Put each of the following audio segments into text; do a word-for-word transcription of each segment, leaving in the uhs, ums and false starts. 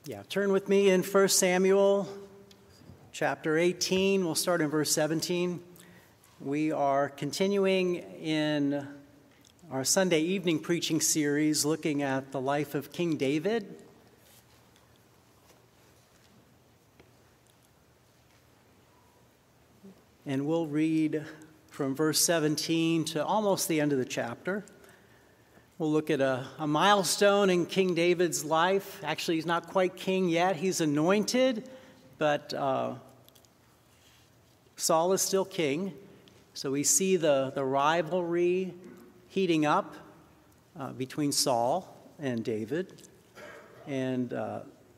Yeah, turn with me in First Samuel chapter eighteen. We'll start in verse seventeen. We are continuing in our Sunday evening preaching series looking at the life of King David. And we'll read from verse seventeen to almost the end of the chapter. We'll look at a, a milestone in King David's life. Actually, he's not quite king yet. He's anointed, but uh, Saul is still king. So we see the, the rivalry heating up uh, between Saul and David. And uh,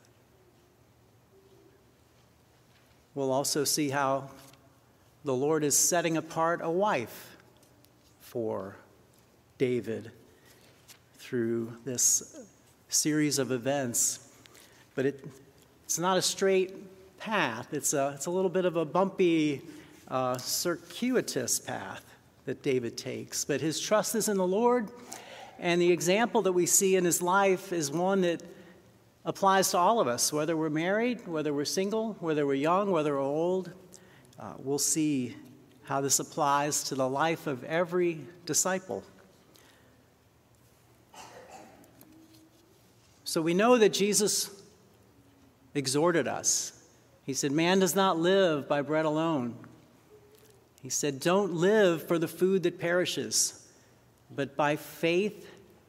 we'll also see how the Lord is setting apart a wife for David through this series of events. But it, it's not a straight path. It's a, it's a little bit of a bumpy, uh, circuitous path that David takes. But his trust is in the Lord, and the example that we see in his life is one that applies to all of us, whether we're married, whether we're single, whether we're young, whether we're old. Uh, we'll see how this applies to the life of every disciple. So we know that Jesus exhorted us. He said, man does not live by bread alone. He said, don't live for the food that perishes, but by faith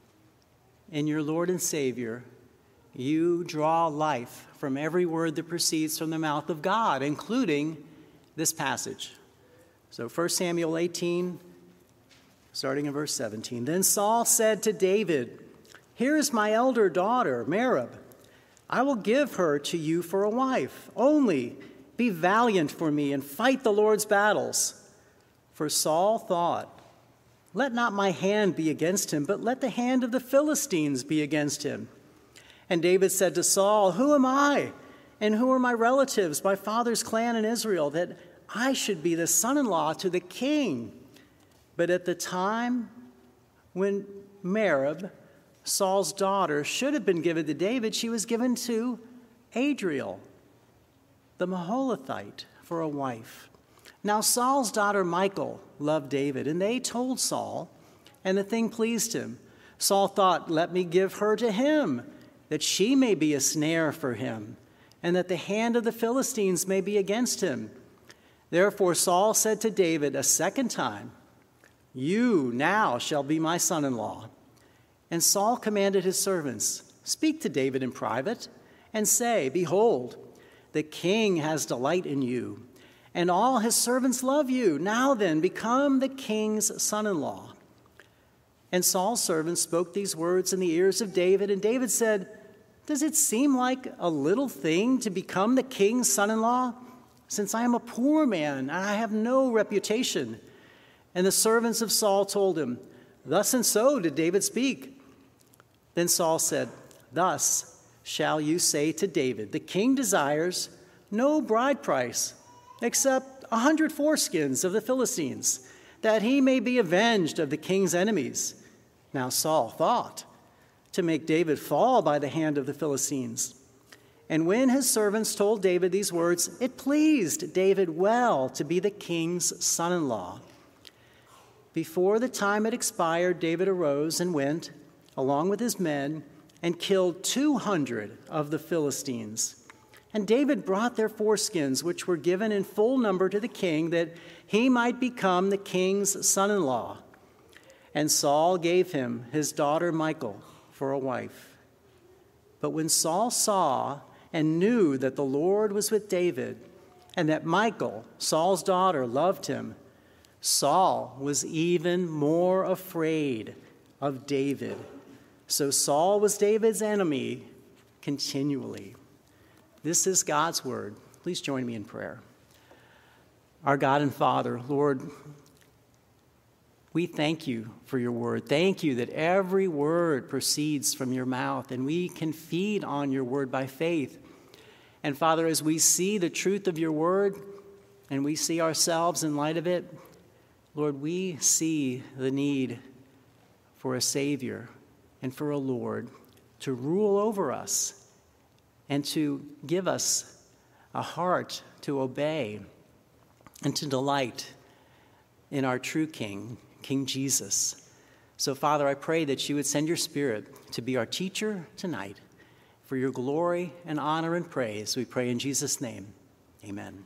in your Lord and Savior, you draw life from every word that proceeds from the mouth of God, including this passage. So First Samuel eighteen, starting in verse seventeen. Then Saul said to David, here is my elder daughter, Merab. I will give her to you for a wife. Only be valiant for me and fight the Lord's battles. For Saul thought, let not my hand be against him, but let the hand of the Philistines be against him. And David said to Saul, who am I, and who are my relatives, my father's clan in Israel, that I should be the son-in-law to the king? But at the time when Merab, Saul's daughter, should have been given to David, she was given to Adriel, the Maholathite, for a wife. Now Saul's daughter Michal loved David, and they told Saul, and the thing pleased him. Saul thought, let me give her to him, that she may be a snare for him, and that the hand of the Philistines may be against him. Therefore Saul said to David a second time, you now shall be my son-in-law. And Saul commanded his servants, speak to David in private, and say, behold, the king has delight in you, and all his servants love you. Now then, become the king's son-in-law. And Saul's servants spoke these words in the ears of David, and David said, does it seem like a little thing to become the king's son-in-law, since I am a poor man, and I have no reputation? And the servants of Saul told him, thus and so did David speak. Then Saul said, thus shall you say to David, the king desires no bride price except a hundred foreskins of the Philistines, that he may be avenged of the king's enemies. Now Saul thought to make David fall by the hand of the Philistines. And when his servants told David these words, it pleased David well to be the king's son-in-law. Before the time had expired, David arose and went, along with his men, and killed two hundred of the Philistines. And David brought their foreskins, which were given in full number to the king, that he might become the king's son-in-law. And Saul gave him his daughter Michal for a wife. But when Saul saw and knew that the Lord was with David, and that Michal, Saul's daughter, loved him, Saul was even more afraid of David. So Saul was David's enemy continually. This is God's word. Please join me in prayer. Our God and Father, Lord, we thank you for your word. Thank you that every word proceeds from your mouth, and we can feed on your word by faith. And Father, as we see the truth of your word and we see ourselves in light of it, Lord, we see the need for a Savior and for a Lord to rule over us and to give us a heart to obey and to delight in our true King, King Jesus. So, Father, I pray that you would send your Spirit to be our teacher tonight. For your glory and honor and praise, we pray in Jesus' name. Amen.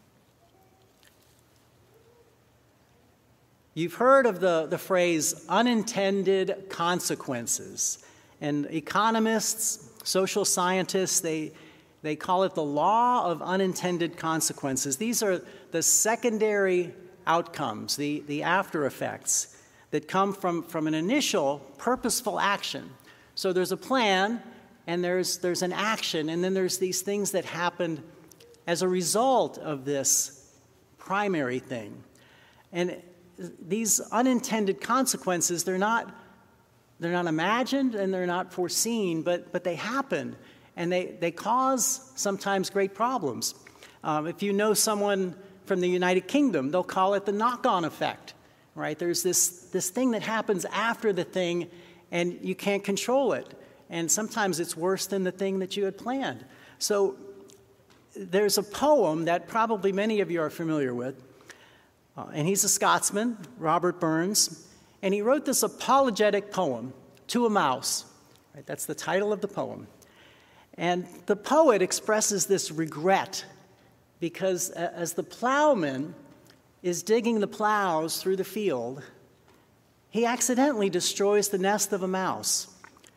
You've heard of the, the phrase unintended consequences. And economists, social scientists, they, they call it the law of unintended consequences. These are the secondary outcomes, the, the after effects that come from, from an initial purposeful action. So there's a plan, and there's, there's an action, and then there's these things that happened as a result of this primary thing. And these unintended consequences, they're not, they're not imagined and they're not foreseen, but, but they happen, and they, they cause sometimes great problems. Um, if you know someone from the United Kingdom, they'll call it the knock-on effect, right? There's this, this thing that happens after the thing, and you can't control it. And sometimes it's worse than the thing that you had planned. So there's a poem that probably many of you are familiar with. Uh, and he's a Scotsman, Robert Burns. And he wrote this apologetic poem, To a Mouse. Right? That's the title of the poem. And the poet expresses this regret because as the plowman is digging the plows through the field, he accidentally destroys the nest of a mouse.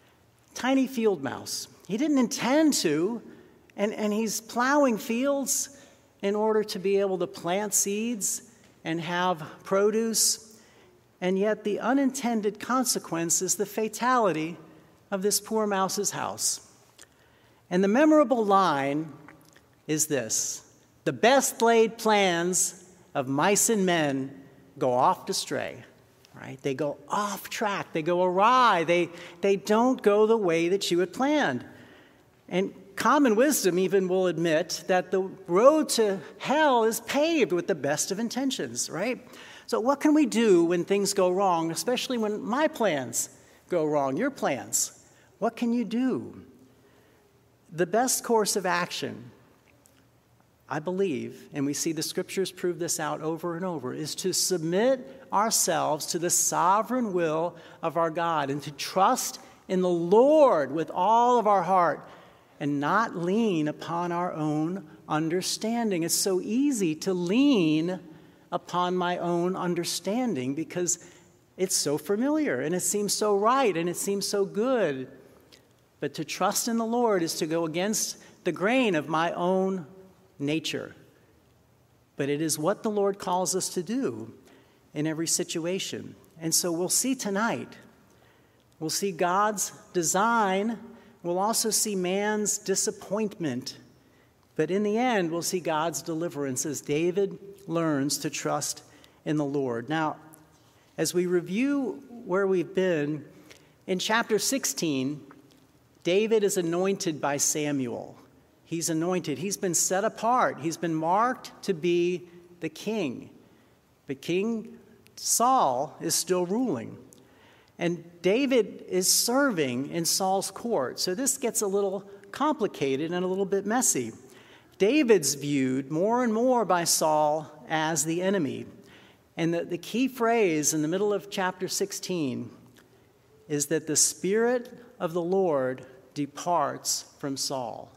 Tiny field mouse. He didn't intend to, and, and he's plowing fields in order to be able to plant seeds and have produce, and yet the unintended consequence is the fatality of this poor mouse's house. And the memorable line is this: the best laid plans of mice and men go oft astray. Right? They go off track. They go awry. They, they don't go the way that you had planned. And common wisdom even will admit that the road to hell is paved with the best of intentions, right? So what can we do when things go wrong, especially when my plans go wrong, your plans? What can you do? The best course of action, I believe, and we see the scriptures prove this out over and over, is to submit ourselves to the sovereign will of our God and to trust in the Lord with all of our heart and not lean upon our own understanding. It's so easy to lean upon my own understanding because it's so familiar and it seems so right and it seems so good. But to trust in the Lord is to go against the grain of my own nature. But it is what the Lord calls us to do in every situation. And so we'll see tonight. We'll see God's design. We'll also see man's disappointment. But in the end, we'll see God's deliverance as David learns to trust in the Lord. Now, as we review where we've been, in chapter sixteen, David is anointed by Samuel. He's anointed. He's been set apart. He's been marked to be the king. But King Saul is still ruling. And David is serving in Saul's court. So this gets a little complicated and a little bit messy. David's viewed more and more by Saul as the enemy. And the, the key phrase in the middle of chapter sixteen is that the Spirit of the Lord departs from Saul.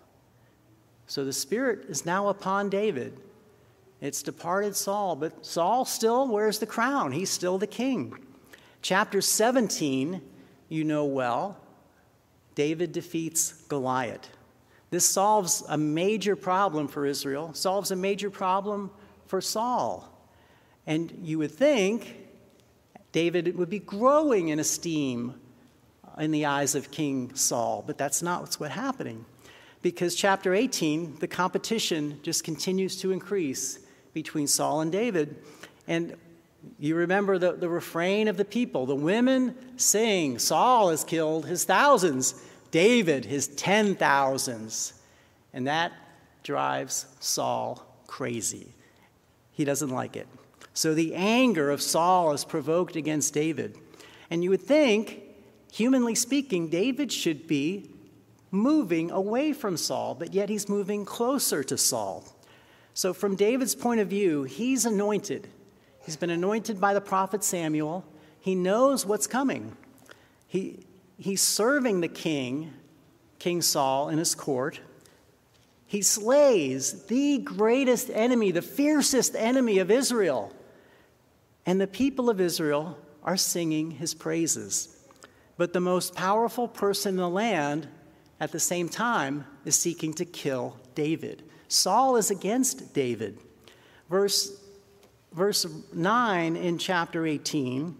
So the Spirit is now upon David. It's departed Saul, but Saul still wears the crown. He's still the king. Chapter seventeen, you know well, David defeats Goliath. This solves a major problem for Israel, solves a major problem for Saul. And you would think David would be growing in esteem in the eyes of King Saul, but that's not what's what's happening. Because chapter eighteen, the competition just continues to increase between Saul and David. And you remember the, the refrain of the people. The women sing, Saul has killed his thousands, David his ten thousands. And that drives Saul crazy. He doesn't like it. So the anger of Saul is provoked against David. And you would think, humanly speaking, David should be moving away from Saul, but yet he's moving closer to Saul. So from David's point of view, he's anointed. He's been anointed by the prophet Samuel. He knows what's coming. He, he's serving the king, King Saul, in his court. He slays the greatest enemy, the fiercest enemy of Israel. And the people of Israel are singing his praises. But the most powerful person in the land at the same time is seeking to kill David. Saul is against David. Verse, verse nine in chapter eighteen,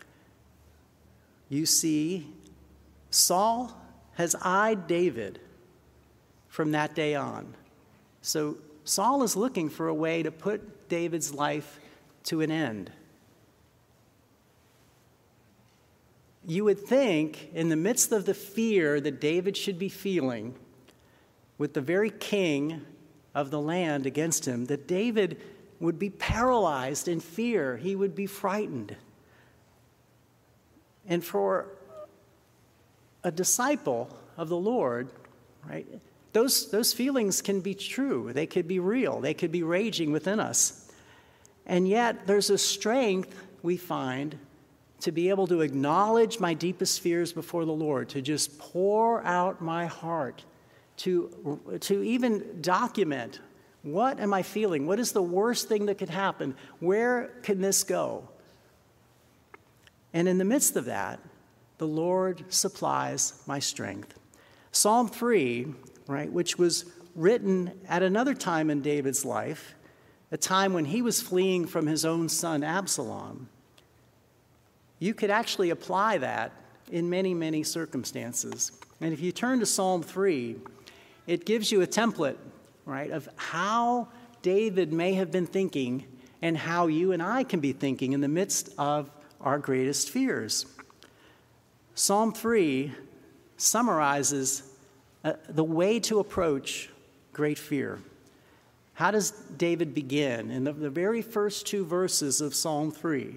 you see Saul has eyed David from that day on. So Saul is looking for a way to put David's life to an end. You would think, in the midst of the fear that David should be feeling, with the very king of the land against him, that David would be paralyzed in fear. He would be frightened. And for a disciple of the Lord, right, those, those feelings can be true. They could be real. They could be raging within us. And yet, there's a strength we find to be able to acknowledge my deepest fears before the Lord, to just pour out my heart, to, to even document, what am I feeling? What is the worst thing that could happen? Where can this go? And in the midst of that, the Lord supplies my strength. Psalm three, right, which was written at another time in David's life, a time when he was fleeing from his own son Absalom. You could actually apply that in many, many circumstances. And if you turn to Psalm three, it gives you a template, right, of how David may have been thinking and how you and I can be thinking in the midst of our greatest fears. Psalm three summarizes uh, the way to approach great fear. How does David begin? In the, the very first two verses of Psalm three,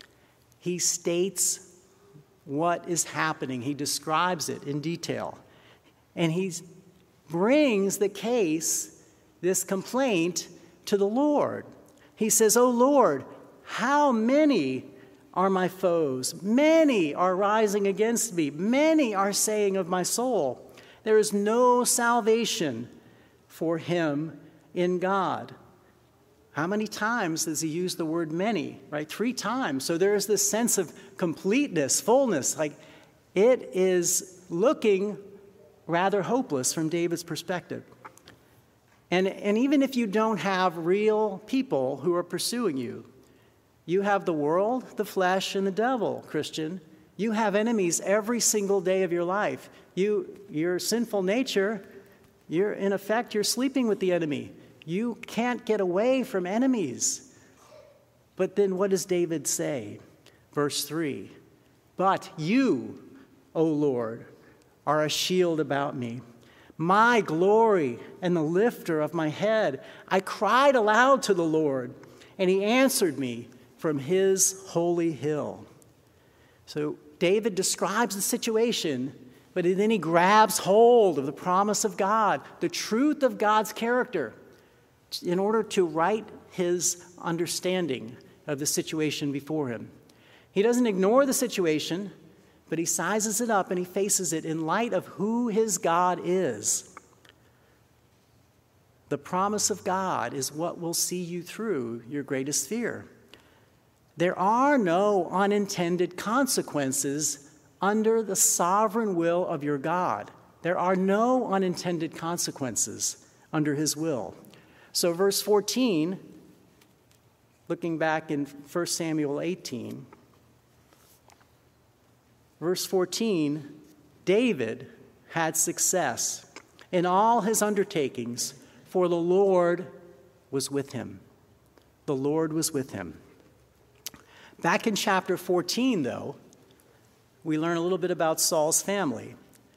he states what is happening. He describes it in detail. And he brings the case, this complaint, to the Lord. He says, "O Lord, how many are my foes? Many are rising against me. Many are saying of my soul, there is no salvation for him in God." How many times does he use the word many, right? Three times. So there is this sense of completeness, fullness. Like, it is looking rather hopeless from David's perspective. And, and even if you don't have real people who are pursuing you, you have the world, the flesh, and the devil, Christian. You have enemies every single day of your life. You, your sinful nature, you're, in effect, you're sleeping with the enemy. You can't get away from enemies. But then what does David say? Verse three, "But you, O Lord, are a shield about me, my glory and the lifter of my head. I cried aloud to the Lord, and he answered me from his holy hill." So David describes the situation, but then he grabs hold of the promise of God, the truth of God's character, in order to right his understanding of the situation before him. He doesn't ignore the situation, but he sizes it up and he faces it in light of who his God is. The promise of God is what will see you through your greatest fear. There are no unintended consequences under the sovereign will of your God. There are no unintended consequences under his will. So verse fourteen, looking back in First Samuel eighteen, verse fourteen, David had success in all his undertakings, for the Lord was with him. The Lord was with him. Back in chapter fourteen, though, we learn a little bit about Saul's family.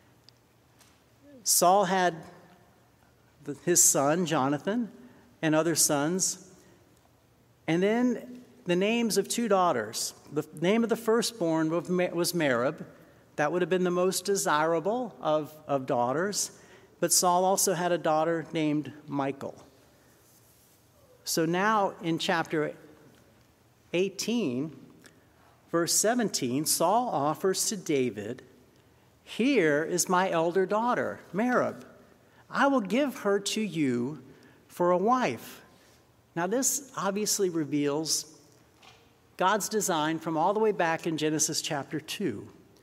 Saul had his son, Jonathan, and other sons, and then the names of two daughters. The name of the firstborn was Merab. That would have been the most desirable of, of daughters. But Saul also had a daughter named Michal. So now in chapter eighteen, verse seventeen, Saul offers to David, "Here is my elder daughter, Merab. I will give her to you for a wife." Now this obviously reveals God's design from all the way back in Genesis chapter two.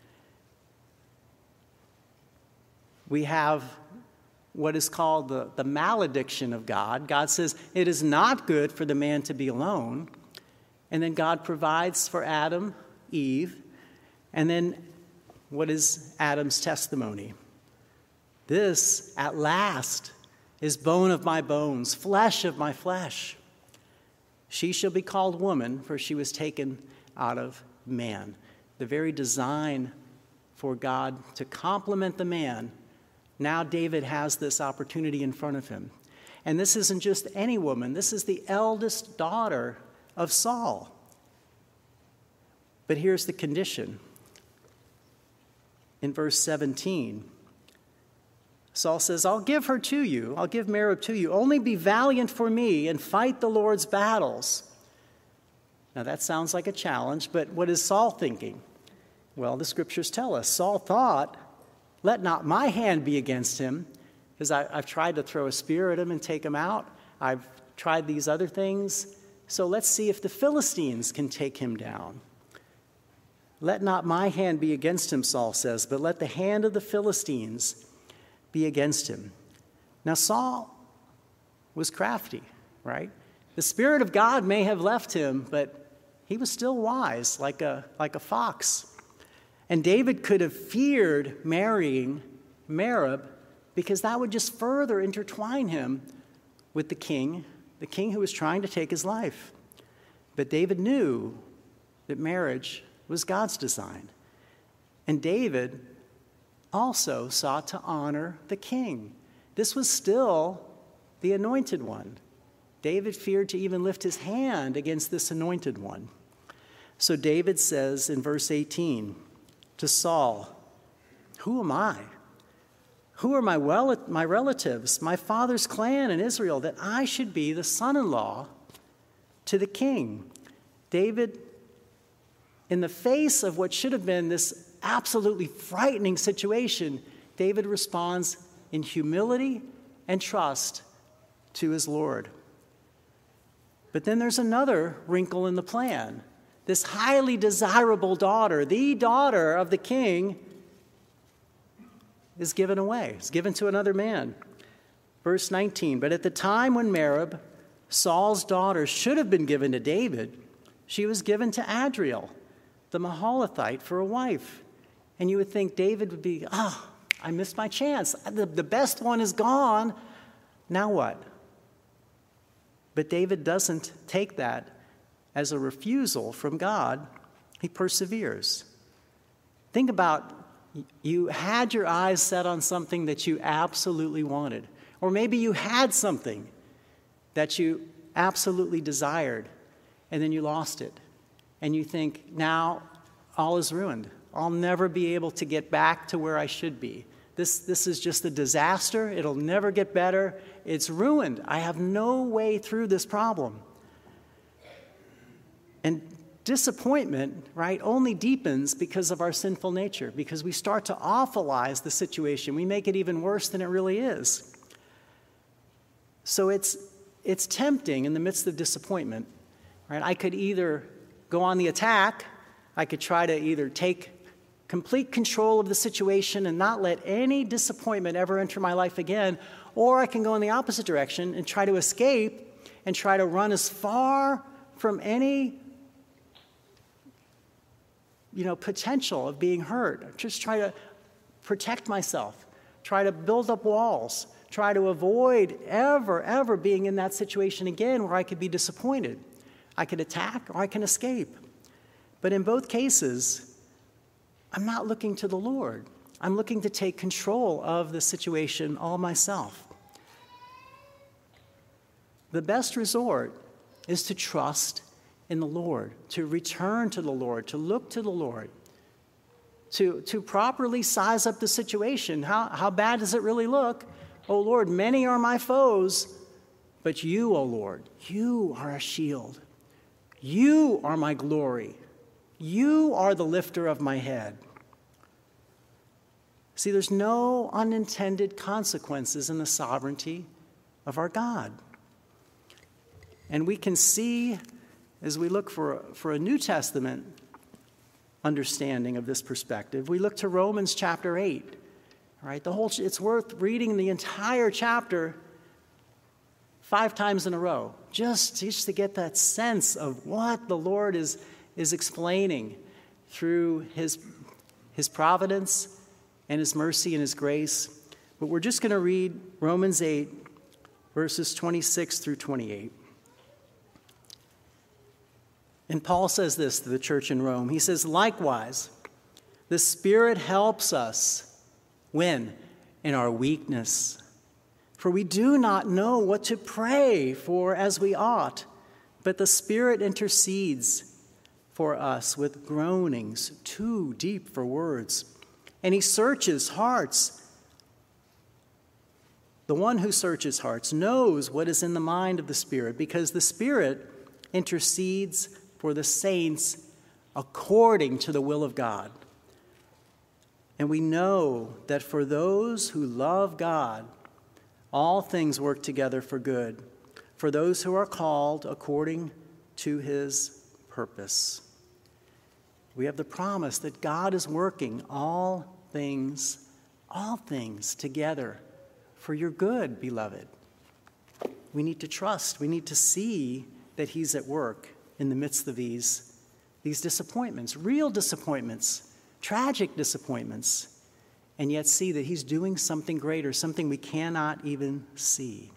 We have what is called the, the malediction of God. God says, it is not good for the man to be alone. And then God provides for Adam, Eve. And then what is Adam's testimony? This, at last, is bone of my bones, flesh of my flesh. She shall be called woman, for she was taken out of man. The very design for God to complement the man. Now David has this opportunity in front of him. And this isn't just any woman. This is the eldest daughter of Saul. But here's the condition. In verse seventeen, Saul says, I'll give her to you. I'll give Merab to you. Only be valiant for me and fight the Lord's battles. Now that sounds like a challenge, but what is Saul thinking? Well, the scriptures tell us. Saul thought, let not my hand be against him, because I've tried to throw a spear at him and take him out. I've tried these other things. So let's see if the Philistines can take him down. Let not my hand be against him, Saul says, but let the hand of the Philistines be against him. Now Saul was crafty, right? The Spirit of God may have left him, but he was still wise, like a, like a fox. And David could have feared marrying Merab because that would just further intertwine him with the king, the king who was trying to take his life. But David knew that marriage was God's design. And David also sought to honor the king. This was still the anointed one. David feared to even lift his hand against this anointed one. So David says in verse eighteen, to Saul, who am I? Who are my, well, my relatives, my father's clan in Israel, that I should be the son-in-law to the king? David, in the face of what should have been this absolutely frightening situation, David responds in humility and trust to his Lord. But then there's another wrinkle in the plan. This highly desirable daughter, the daughter of the king, is given away, is given to another man. Verse nineteen, but at the time when Merab, Saul's daughter, should have been given to David, she was given to Adriel, the Mahalathite, for a wife. And you would think David would be, oh, I missed my chance. The, the best one is gone. Now what? But David doesn't take that as a refusal from God. He perseveres. Think about, you had your eyes set on something that you absolutely wanted. Or maybe you had something that you absolutely desired, and then you lost it. And you think, now all is ruined. I'll never be able to get back to where I should be. This, this is just a disaster. It'll never get better. It's ruined. I have no way through this problem. And disappointment, right, only deepens because of our sinful nature, because we start to awfulize the situation. We make it even worse than it really is. So it's, it's tempting in the midst of disappointment, right? I could either go on the attack, I could try to either take complete control of the situation and not let any disappointment ever enter my life again, or I can go in the opposite direction and try to escape and try to run as far from any you know, potential of being hurt. Just try to protect myself, try to build up walls, try to avoid ever, ever being in that situation again where I could be disappointed. I could attack or I can escape. But in both cases, I'm not looking to the Lord. I'm looking to take control of the situation all myself. The best resort is to trust in the Lord, to return to the Lord, to look to the Lord, to, to properly size up the situation. How, how bad does it really look? Oh Lord, many are my foes, but you, O Lord, you are a shield. You are my glory. You are the lifter of my head. See, there's no unintended consequences in the sovereignty of our God. And we can see, as we look for, for a New Testament understanding of this perspective, we look to Romans chapter eight. All right, the whole, it's worth reading the entire chapter five times in a row, just, just to get that sense of what the Lord is, is explaining through his, his providence and his mercy and his grace. But we're just going to read Romans eight, verses twenty-six through twenty-eight. And Paul says this to the church in Rome. He says, likewise, the Spirit helps us. When? In our weakness. For we do not know what to pray for as we ought, but the Spirit intercedes for us with groanings too deep for words. And he searches hearts. The one who searches hearts knows what is in the mind of the Spirit, because the Spirit intercedes for the saints according to the will of God. And we know that for those who love God, all things work together for good, for those who are called according to his purpose. We have the promise that God is working all things, all things together for your good, beloved. We need to trust. We need to see that he's at work in the midst of these, these disappointments, real disappointments, tragic disappointments, and yet see that he's doing something greater, something we cannot even see.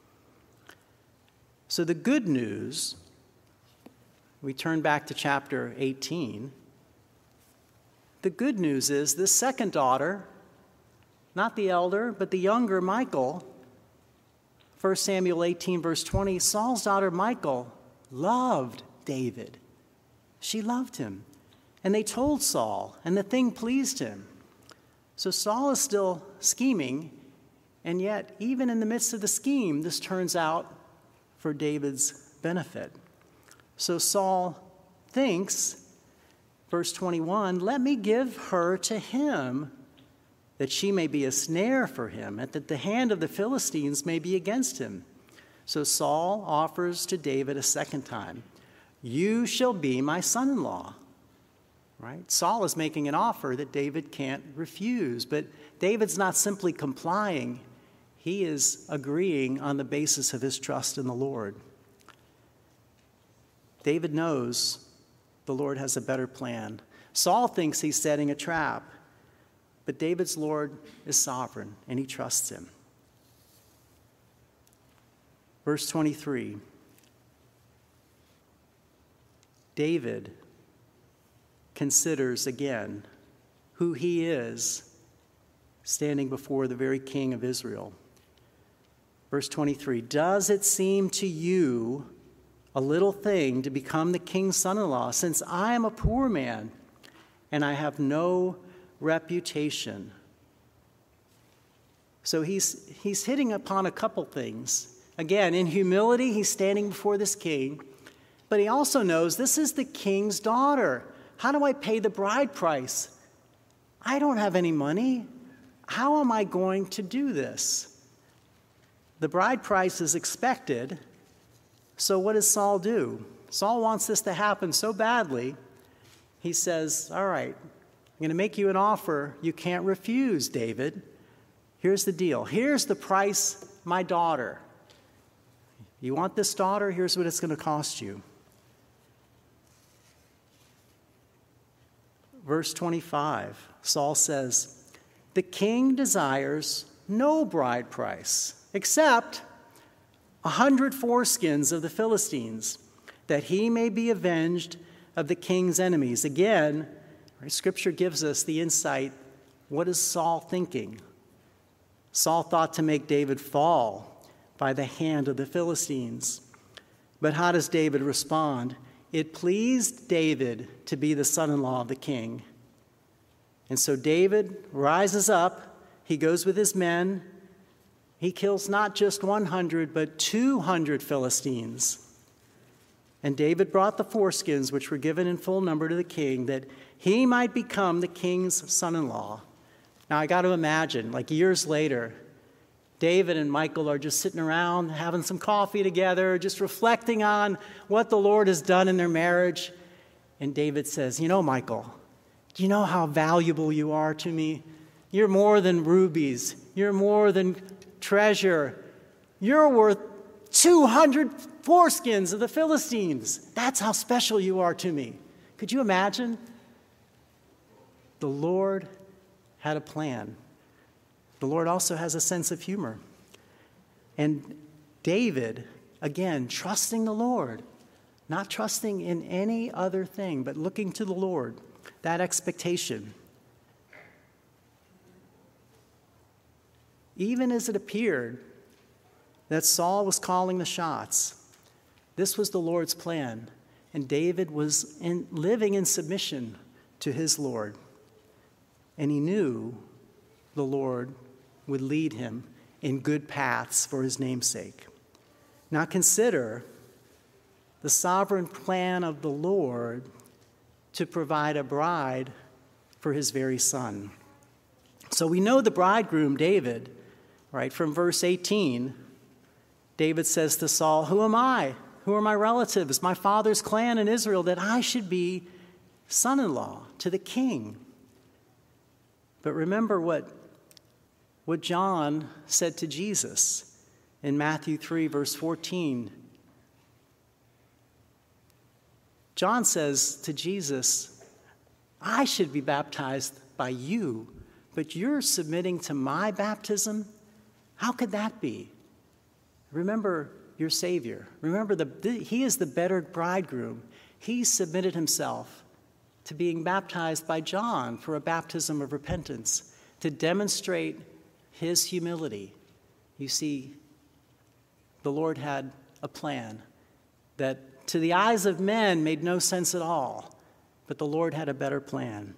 So the good news, we turn back to chapter eighteen. The good news is this second daughter, not the elder, but the younger Michal, First Samuel eighteen, verse twenty, Saul's daughter Michal loved David. She loved him. And they told Saul, and the thing pleased him. So Saul is still scheming, and yet, even in the midst of the scheme, this turns out for David's benefit. So Saul thinks, verse twenty-one, let me give her to him, that she may be a snare for him, and that the hand of the Philistines may be against him. So Saul offers to David a second time, you shall be my son-in-law. Right? Saul is making an offer that David can't refuse, but David's not simply complying. He is agreeing on the basis of his trust in the Lord. David knows the Lord has a better plan. Saul thinks he's setting a trap, but David's Lord is sovereign, and he trusts him. Verse twenty-three, David considers again who he is standing before the very king of Israel. Verse twenty-three, does it seem to you a little thing to become the king's son-in-law, since I am a poor man and I have no reputation? So he's, he's hitting upon a couple things. Again, in humility, he's standing before this king, but he also knows this is the king's daughter. How do I pay the bride price? I don't have any money. How am I going to do this? The bride price is expected. So what does Saul do? Saul wants this to happen so badly, he says, all right, I'm going to make you an offer you can't refuse, David. Here's the deal. Here's the price, my daughter. You want this daughter? Here's what it's going to cost you. Verse twenty-five, Saul says, the king desires no bride price except a hundred foreskins of the Philistines, that he may be avenged of the king's enemies. Again, right, Scripture gives us the insight. What is Saul thinking? Saul thought to make David fall by the hand of the Philistines. But how does David respond? It pleased David to be the son-in-law of the king. And so David rises up. He goes with his men. He kills not just one hundred, but two hundred Philistines. And David brought the foreskins, which were given in full number to the king, that he might become the king's son-in-law. Now, I got to imagine, like years later, David and Michal are just sitting around having some coffee together, just reflecting on what the Lord has done in their marriage. And David says, you know, Michal, do you know how valuable you are to me? You're more than rubies. You're more than treasure. You're worth two hundred foreskins of the Philistines. That's how special you are to me. Could you imagine? The Lord had a plan. The Lord also has a sense of humor. And David, again, trusting the Lord, not trusting in any other thing, but looking to the Lord, that expectation. Even as it appeared that Saul was calling the shots, this was the Lord's plan, and David was in, living in submission to his Lord. And he knew the Lord would lead him in good paths for his name's sake. Now consider the sovereign plan of the Lord to provide a bride for his very son. So we know the bridegroom, David, right? From verse eighteen, David says to Saul, "Who am I? Who are my relatives, my father's clan in Israel, that I should be son-in-law to the king?" But remember what, what John said to Jesus in Matthew three, verse fourteen. John says to Jesus, I should be baptized by you, but you're submitting to my baptism? How could that be? Remember your Savior. Remember, the, he is the better bridegroom. He submitted himself to being baptized by John for a baptism of repentance, to demonstrate his humility. You see, the Lord had a plan that to the eyes of men made no sense at all, but the Lord had a better plan.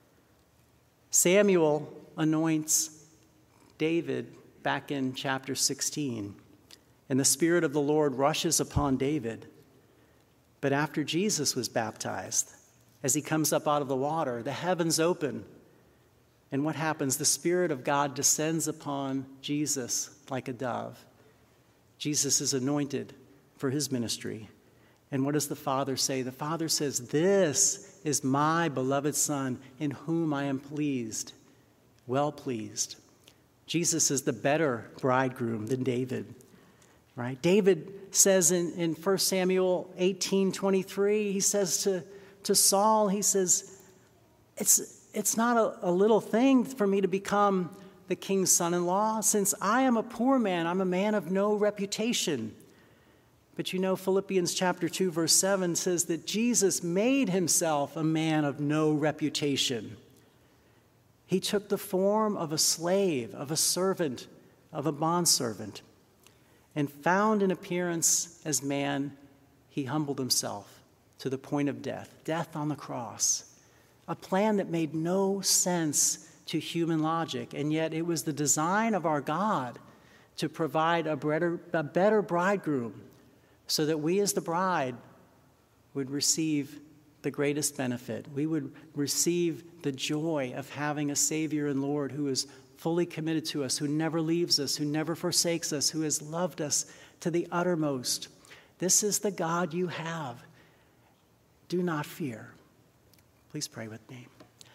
Samuel anoints David back in chapter sixteen, and the Spirit of the Lord rushes upon David. But after Jesus was baptized, as he comes up out of the water, the heavens open. And what happens? The Spirit of God descends upon Jesus like a dove. Jesus is anointed for his ministry. And what does the Father say? The Father says, "This is my beloved Son, in whom I am pleased, well pleased." Jesus is the better bridegroom than David. Right? David says in, in First Samuel eighteen twenty-three, he says to, to Saul, he says, it's, it's not a, a little thing for me to become the king's son-in-law, since I am a poor man, I'm a man of no reputation. But you know, Philippians chapter two, verse seven says that Jesus made himself a man of no reputation. He took the form of a slave, of a servant, of a bondservant. And found in appearance as man, he humbled himself to the point of death, death on the cross. A plan that made no sense to human logic, and yet it was the design of our God to provide a better, a better bridegroom so that we as the bride would receive the greatest benefit. We would receive the joy of having a Savior and Lord who is fully committed to us, who never leaves us, who never forsakes us, who has loved us to the uttermost. This is the God you have. Do not fear. Please pray with me.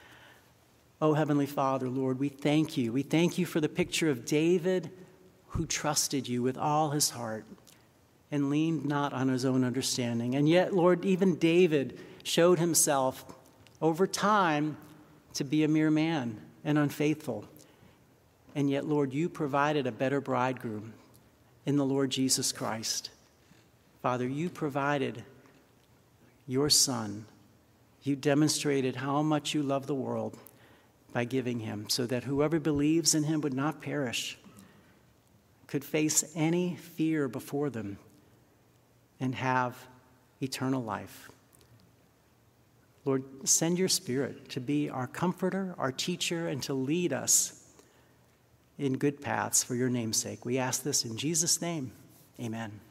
Oh, Heavenly Father, Lord, we thank you. We thank you for the picture of David who trusted you with all his heart and leaned not on his own understanding. And yet, Lord, even David showed himself over time to be a mere man and unfaithful. And yet, Lord, you provided a better bridegroom in the Lord Jesus Christ. Father, you provided your Son. You demonstrated how much you love the world by giving him, so that whoever believes in him would not perish, could face any fear before them, and have eternal life. Lord, send your Spirit to be our comforter, our teacher, and to lead us in good paths for your name's sake. We ask this in Jesus' name. Amen.